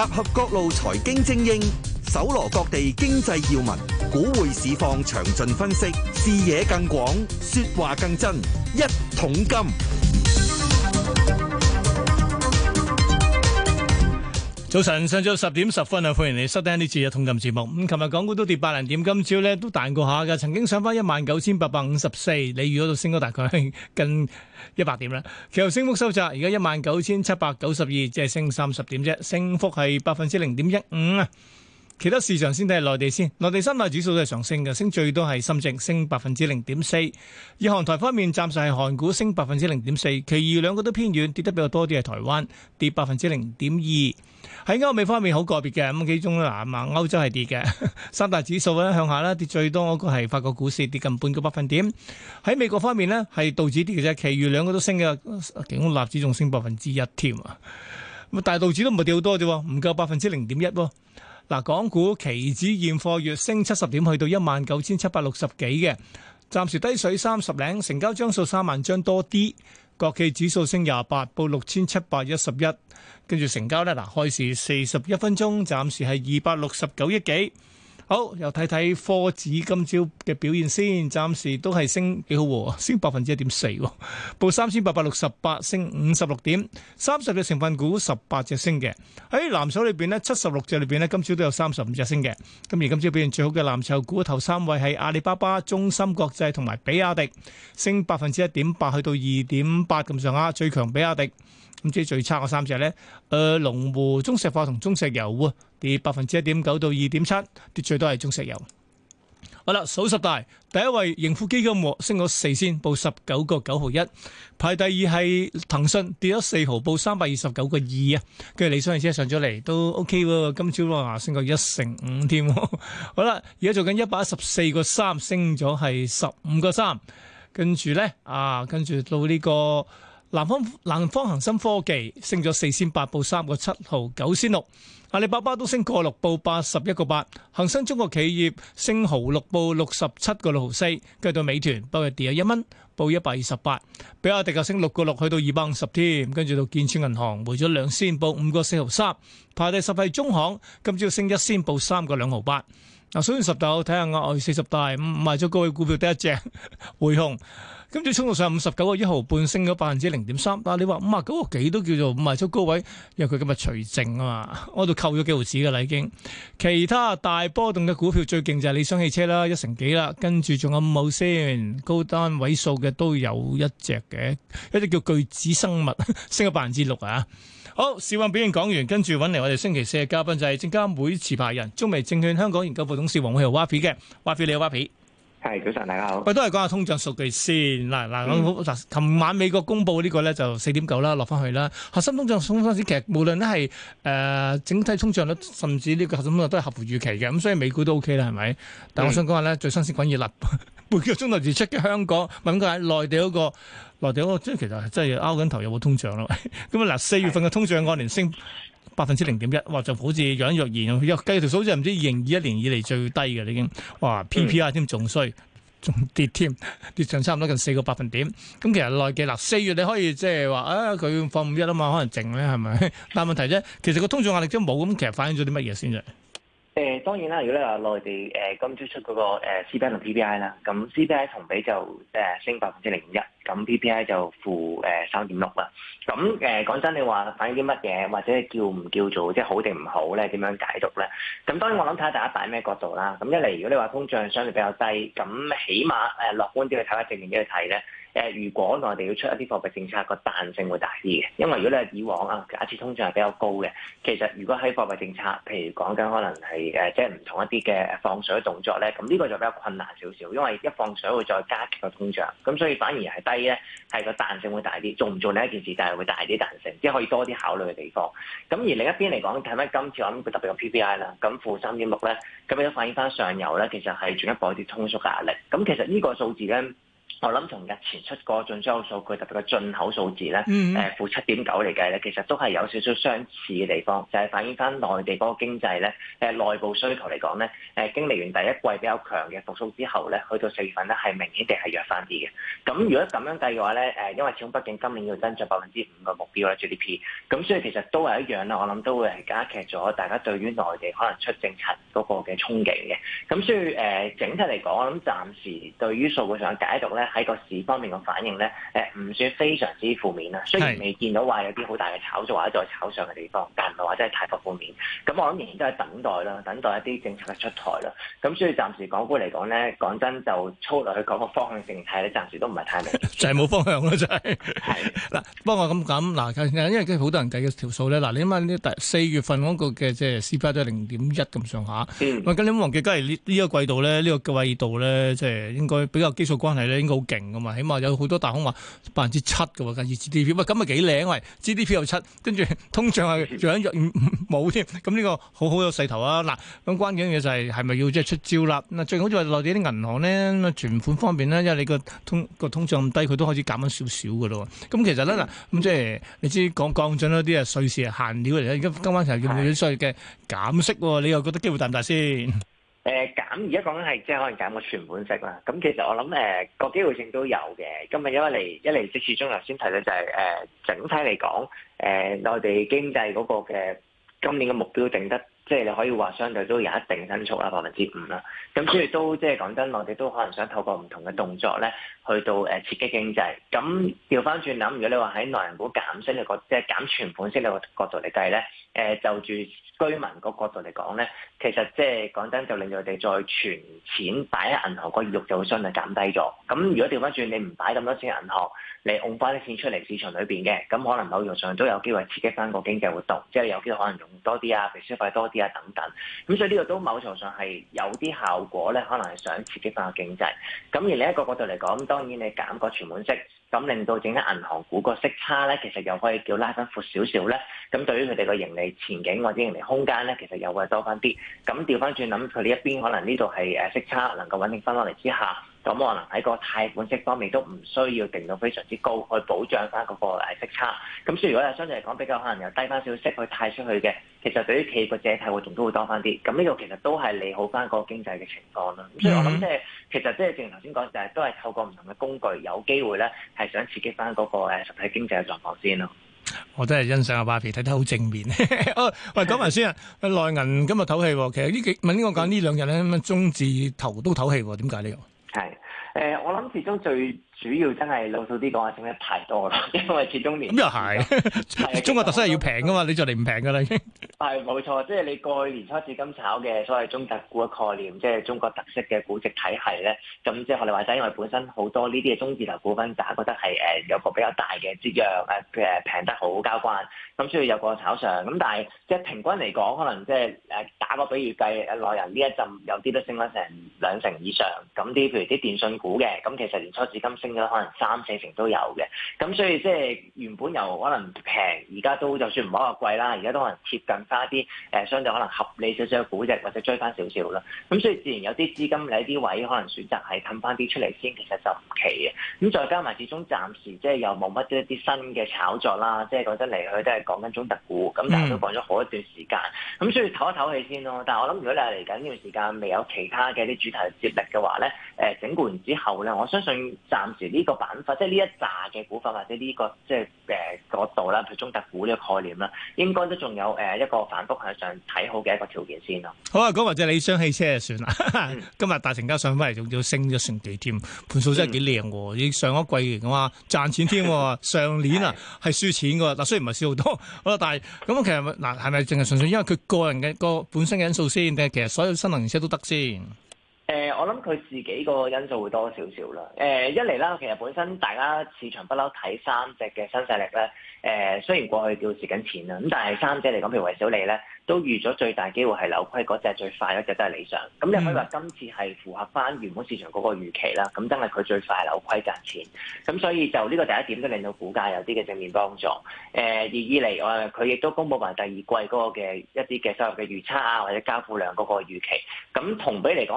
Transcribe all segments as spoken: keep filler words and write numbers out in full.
合各路財經精英，搜羅各地經濟要聞，股匯市況詳盡分析，視野更廣，說話更真。一桶金。 早晨，上晝十點十分啊！歡迎你收聽呢次嘅《一桶金》節目。咁，琴日港股都跌百零點，今朝咧都彈過下嘅，曾經上翻一萬九千八百五十四，你預嗰度升咗大概近一百點啦。其後升幅收窄，而家一萬九千七百九十二，即係升三十點啫，升幅係百分之零點一五啊。其他市場先睇係內地先，內地三大指數都係上升嘅，升最多係深證升百分之零點四。以韓台方面，暫時係韓股升百分之零點四，其餘兩個都偏軟，跌得比較多啲係台灣跌百分之零點二。喺歐美方面好個別嘅，咁幾種啦，嗱，歐洲係跌嘅，三大指數咧向下啦，跌最多嗰個係法國股市跌近半個百分點。喺美國方面呢，係道指跌嘅啫，其餘兩個都升嘅，其中納指仲升百分之一添啊。咁但係道指都唔係跌好多啫，唔夠百分之零點一喎。嗱，港股期指現貨月升七十點，去到一萬九千七百六十幾嘅，暫時低水三十零，成交張數三萬張多啲。國企指數升廿八，報六千七百一十一，跟住成交咧，嗱，開市四十一分鐘，暫時係二百六十九億幾。好，又睇睇科指今朝嘅表現先，暫時都係升幾好，升百分之一點四，報三千八百六十八，升五十六點，三十隻成分股十八隻升嘅。喺藍籌裏邊呢，七十六隻裏邊呢，今朝都有三十五隻升嘅。咁而今朝表現最好嘅藍籌股頭三位係阿里巴巴、中芯國際同埋比亞迪，升百分之一點八，去到二點八咁上下，最強比亞迪。咁即係最差嗰三隻咧，誒、呃、龍湖、中石化同中石油喎，跌百分之一點九到二點七，跌最多係中石油。好啦，數十大第一位盈富基金升咗四仙，報十九個九毫一。排第二係騰訊，跌咗四毫，報三百二十九個二啊。跟住理想汽車上咗嚟都 OK 喎，今朝啊升過一成五添。好啦，而家做緊一百一十四個三，升咗係十五個三。跟住咧啊，跟住到呢、這個。南方南方恒生科技升咗四仙八，報三個七毫九仙六。阿里巴巴都升個六，報八十一個八。恒生中國企業升毫六，報六十七個六毫四。跟住到美團，不過跌咗一蚊，報一百二十八。比亞迪就升六個六，去到二百五十添。跟住到建設銀行回咗兩仙，報五個四毫三。排第十係中行，今朝升一仙，報三個兩毫八。嗱，數完十大，睇下額外四十大，賣咗高位股票得一隻匯控。今朝衝到上五十九個一毫半，升咗百分之零點三。但係你話五啊九個幾都叫做賣出高位，因為佢今日除淨啊嘛，我度扣咗幾毫子噶啦已經。其他大波動嘅股票最勁就係理想汽車啦，一成幾啦。跟住仲有五號先，高單位數嘅都有一隻嘅，一隻叫巨子生物，升咗百分之六啊。好，市況表現講完，跟住揾嚟我哋星期四嘅嘉賓就係證監會持牌人中微證券香港研究部董事黃偉豪 Wafi 嘅 Wafi，你好 Wafi。 係，早晨，大家好。 喂，都係講下通脹數據先。嗱嗱，嗱，琴晚美國公布呢個咧就四點九啦，落翻去啦。核心通脹通脹其實無論咧係誒整體通脹率，甚至呢個核心通脹都係合乎預期嘅。咁所以美股都 OK 啦，係咪？但我想講下咧，最新鮮滾熱辣，半個鐘頭至出嘅香港，問佢喺內地嗰個內地嗰個，即係其實真係拗緊頭有冇通脹咯。咁啊嗱，四月份嘅通脹按年升百分之零點一，哇！就好似若隱若現，又計條數就唔知二零二一年以嚟最低嘅，已經哇 P P I 添仲衰，仲跌添，跌上差唔多近四個百分點。咁其實內地嗱四月你可以即係話啊，佢放五一啊嘛，可能靜咧係咪？但係問題啫，其實個通脹壓力都冇，咁其實反映咗啲乜嘢先啫？ 誒、呃、當然啦，如果你話內地誒、呃、今朝出嗰、那個、呃、C P I 同 P P I 啦，咁 C P I 同比就誒、呃、升百分之零點一，咁 P P I 就負誒三點六啦。咁誒講真，你話反映啲乜嘢，或者叫唔叫做即係好定唔好咧？點樣解讀咧？咁當然我諗睇下大家擺咩角度啦。咁一嚟，如果你話通脹相對比較低，咁起碼誒、呃、樂觀啲去睇，或者正面啲去睇咧。誒、呃，如果內地要出一啲貨幣政策，個彈性會大啲嘅，因為如果你係以往啊，假設通脹係比較高嘅，其實如果喺貨幣政策，譬如講緊可能係誒、呃，即係唔同一啲嘅放水動作咧，咁呢個就比較困難少少，因為一放水會再加劇個通脹，咁所以反而係低咧，係個彈性會大啲，做唔做呢一件事，但係會大啲彈性，即係可以多啲考慮嘅地方。咁而另一邊嚟講，睇翻今次我諗佢特別個 P P I 啦，咁負三點六咧，咁亦都反映翻上游咧，其實係進一步一啲通縮嘅壓力。咁其實呢個數字咧。 我諗從日前出個進出口數據，特別個進口數字咧，誒、 嗯呃、負七點九嚟計咧，其實都係有少少相似嘅地方，就係、是、反映翻內地嗰個經濟咧，誒、呃、內部需求嚟講咧，誒、呃、經歷完第一季比較強嘅復甦之後咧，去到四月份咧係明顯地係弱翻啲嘅。咁如果咁樣計嘅話咧，誒、呃、因為始終畢竟今年要增長百分之五嘅目標啦 G D P， 咁所以其實都係一樣啦。我諗都會係加劇咗大家對於內地可能出政策嗰個嘅憧憬嘅。咁所以誒、呃、整體嚟講，我諗暫時對於數據上嘅解讀咧，喺個市方面嘅反應咧，誒唔算非常之負面啦。雖然未見到話有啲好大嘅炒作或者再炒上嘅地方，但唔係話真係太過負面。咁我諗仍然都係等待啦，等待一啲政策嘅出台啦。咁所以暫時港股嚟講咧，講真就粗略去講個方向性睇咧，暫時都唔係太明。 就係冇方向咯，真係。 係嗱，不過咁咁嗱，因為跟住好多人計嘅條數咧，嗱，你諗下呢第四月份嗰個嘅即係 C P I 都係零點一咁上下。 嗯。 喂，咁你唔好忘記，梗係呢呢一個季度咧，呢、呢個季度咧，即係應該比較基數關係咧，應該好勁噶嘛。起碼有好多大行話百分之七嘅喎，近二 G D P，喂，咁咪幾靚喂 ？G D P 又七，跟住通脹係仲有冇添？咁呢個好好有勢頭啊！嗱，咁關鍵嘅嘢就係係咪要即係出招啦？嗱，最好就係內地啲銀行咧，咁啊存款方面咧，因為你個通個通脹咁低，佢都開始減緊少少嘅咯。咁其實咧嗱，咁即係你知講降準嗰啲啊，瑞士係限料嚟嘅，而家今晚就係叫佢所謂嘅減息喎，你又覺得機會大唔大先？ 誒、呃、減而家講緊係即係可能減個存款息啦，咁其實我諗誒個機會性都有嘅。今日因為嚟一嚟即始終頭先提到就係、是、誒、呃、整體嚟講，誒、呃、內地經濟嗰個嘅今年嘅目標定得。即係你可以話相對都有一定增速啦，百分之五啦。咁所以都即係講真，我哋都可能想透過唔同嘅動作咧，去到誒刺激經濟。咁調翻轉諗，如果你話喺內銀股減息嘅角，即係減存款息嘅角度嚟計咧，誒就住居民個角度嚟講咧，其實即係講真，就令到佢哋再存錢擺喺銀行個意欲就會相對減低咗。咁如果調翻轉，你唔擺咁多錢喺銀行，你戙翻啲錢出嚟市場裏邊嘅，咁可能某程度上都有機會刺激翻個經濟活動，即係有機會可能用多啲啊，譬如消費多啲啊等等。咁所以呢個都某程度上係有啲效果咧，可能係想刺激翻個經濟。咁而另一個角度嚟講，當然你減個存款息，咁令到整啲銀行股個息差咧，其實又可以叫拉翻闊少少咧。咁對於佢哋個盈利前景或者盈利空間咧，其實又會多翻啲。咁調翻轉諗，佢哋一邊可能呢度係誒息差能夠穩定翻落嚟之下。咁可能喺個貸款息方面都唔需要定到非常之高，去保障翻嗰個誒息差。咁所以如果係相對嚟講比較可能又低翻少少息去貸出去嘅，其實對於企業嘅借貸活動都會多翻啲。咁呢個其實都係利好翻個經濟嘅情況啦。咁所以我諗即係其實即係正如頭先講，就係都係透過唔同嘅工具，有機會咧係想刺激翻嗰個誒實體經濟嘅狀況先咯。 我真係欣賞阿巴皮睇得好正面。哦，喂，講埋先啊，內銀今日唞氣，其實呢幾問呢個講呢兩日咧，咁啊中字頭都唞氣，點解呢個？ 係，誒、呃，我諗始終最主要真係老實啲講係升得太多啦，因為始終年咁又係，中國特色係要平噶嘛，你就嚟唔平噶啦已經。 係冇錯，即係你過去年初至今炒嘅所謂中特股嘅概念，即係中國特色嘅估值體系咧，咁即係學你話齋，因為本身好多呢啲嘅中字頭股份，大家覺得係誒有個比較大嘅折讓，誒誒平得好交關，咁所以有個炒上，咁但係即係平均嚟講，可能即係誒打個比喻計，內人呢一陣有啲都升咗成兩成以上，咁啲譬如啲電信股嘅，咁其實年初至今升咗可能三四成都有嘅，咁所以即係原本由可能平，而家都就算唔好話貴啦，而家都可能貼近翻一啲誒相對可能合理少少嘅估值，或者追翻少少啦。咁所以自然有啲資金喺啲位可能選擇係氹翻啲出嚟先，其實就唔奇嘅。咁再加埋始終暫時即係又冇乜一啲新嘅炒作啦，即係講真嚟去都係講緊中特股，咁但係都講咗好一段時間，咁所以唞一唞氣先咯。但係我諗如果你係嚟緊呢段時間未有其他嘅啲主題接力嘅話咧，誒整固完之後咧，我相信暫時呢個板塊即係呢一紮嘅股份或者呢、這個即係誒角度啦，譬如中特股呢個概念啦，應該都仲有誒一個反覆向上睇好嘅一個條件先咯。 好啊，講或者理想汽車就算啦。 嗯、 今日大成交上翻嚟，仲要升咗成幾添，盤數真係幾靚喎。已經上一季嘅話賺錢添，上年啊係輸錢嘅。嗱雖然唔係輸好多，好啦，但係咁其實嗱係咪淨係純粹因為佢個人嘅個本身嘅因素先，定係其實所有新能源車都得先？ 誒、呃，我諗佢自己個因素會多少少啦。誒、呃，一嚟啦，其實本身大家市場不嬲睇三隻嘅新勢力咧。誒、呃，雖然過去叫蝕緊錢啦，咁但係三隻嚟講，譬如維小利咧，都預咗最大機會係扭虧嗰隻最快嗰隻都係理想。咁你可以話今次係符合翻原本市場嗰個預期啦。咁真係佢最快扭虧賺錢。咁所以就呢個第一點都令到股價有啲嘅正面幫助。誒、呃，而二嚟我佢亦都公佈埋第二季嗰個嘅一啲嘅收入嘅預測啊，或者交付量嗰個預期。咁同比嚟講嘅增幅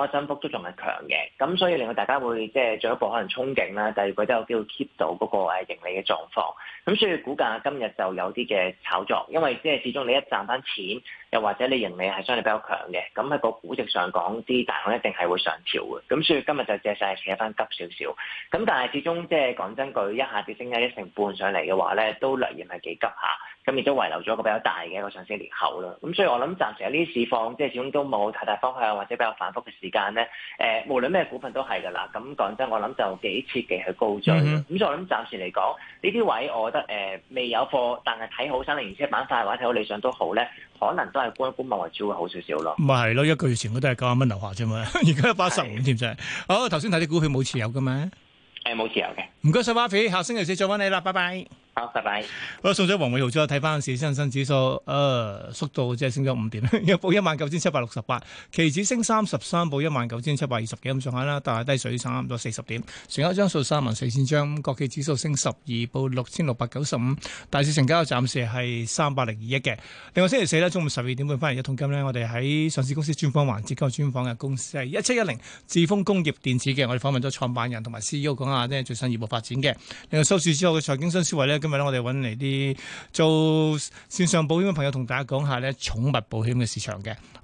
都仲係強嘅，咁所以令到大家會即係進一步可能憧憬啦，第二季都有機會 keep 到嗰個誒盈利嘅狀況。咁所以股價今日就有啲嘅炒作，因為即係始終你一賺翻錢，又或者你盈利係相對比較強嘅，咁喺個估值上講，啲大行一定係會上調嘅。咁所以今日就借勢扯翻急少少。咁但係始終即係講真句，一下子升咗一成半上嚟嘅話咧，都略嫌係幾急下。咁亦都遺留咗一個比較大嘅一個上升裂口啦。咁所以我諗暫時喺呢啲市況，即係始終都冇太大方向或者比較反覆嘅時間咧。誒，無論咩股份都係㗎啦。咁講真，我諗就幾切忌去高追。咁、嗯、哼所以我諗暫時嚟講，呢啲位我覺得誒、呃、未有貨，但係睇好新能源車板塊或者睇好理想都好咧，可能都係觀一觀望為主會好少少咯。 咪係咯，一個月前我都係九十蚊樓下啫嘛，而家一百十五添啫。好，頭先睇啲股票冇持有㗎嘛？ 誒，冇持有嘅。 唔該晒，Wafi，下星期四再揾你啦，拜拜。 好，拜拜。 好，送咗黃偉豪之後，睇翻市恒生指數，誒、呃，縮到即係升咗五點，又報一萬九千七百六十八，期指升三十三，報一萬九千七百二十幾咁上下啦，但係低水差唔多四十點，成交張數三萬四千張，國企指數升十二，報六千六百九十五，大市成交暫時係三百零二億嘅。另外星期四咧，中午十二點半翻嚟一桶金咧，我哋喺上市公司專訪環節，今日專訪嘅公司係一七一零智豐工業電子嘅，我哋訪問咗創辦人同埋 C E O 講下即係最新業務發展嘅。另外收市之後嘅財經新思維咧，今日咧我哋揾嚟啲做線上保險嘅朋友同大家講下咧寵物保險嘅市場嘅。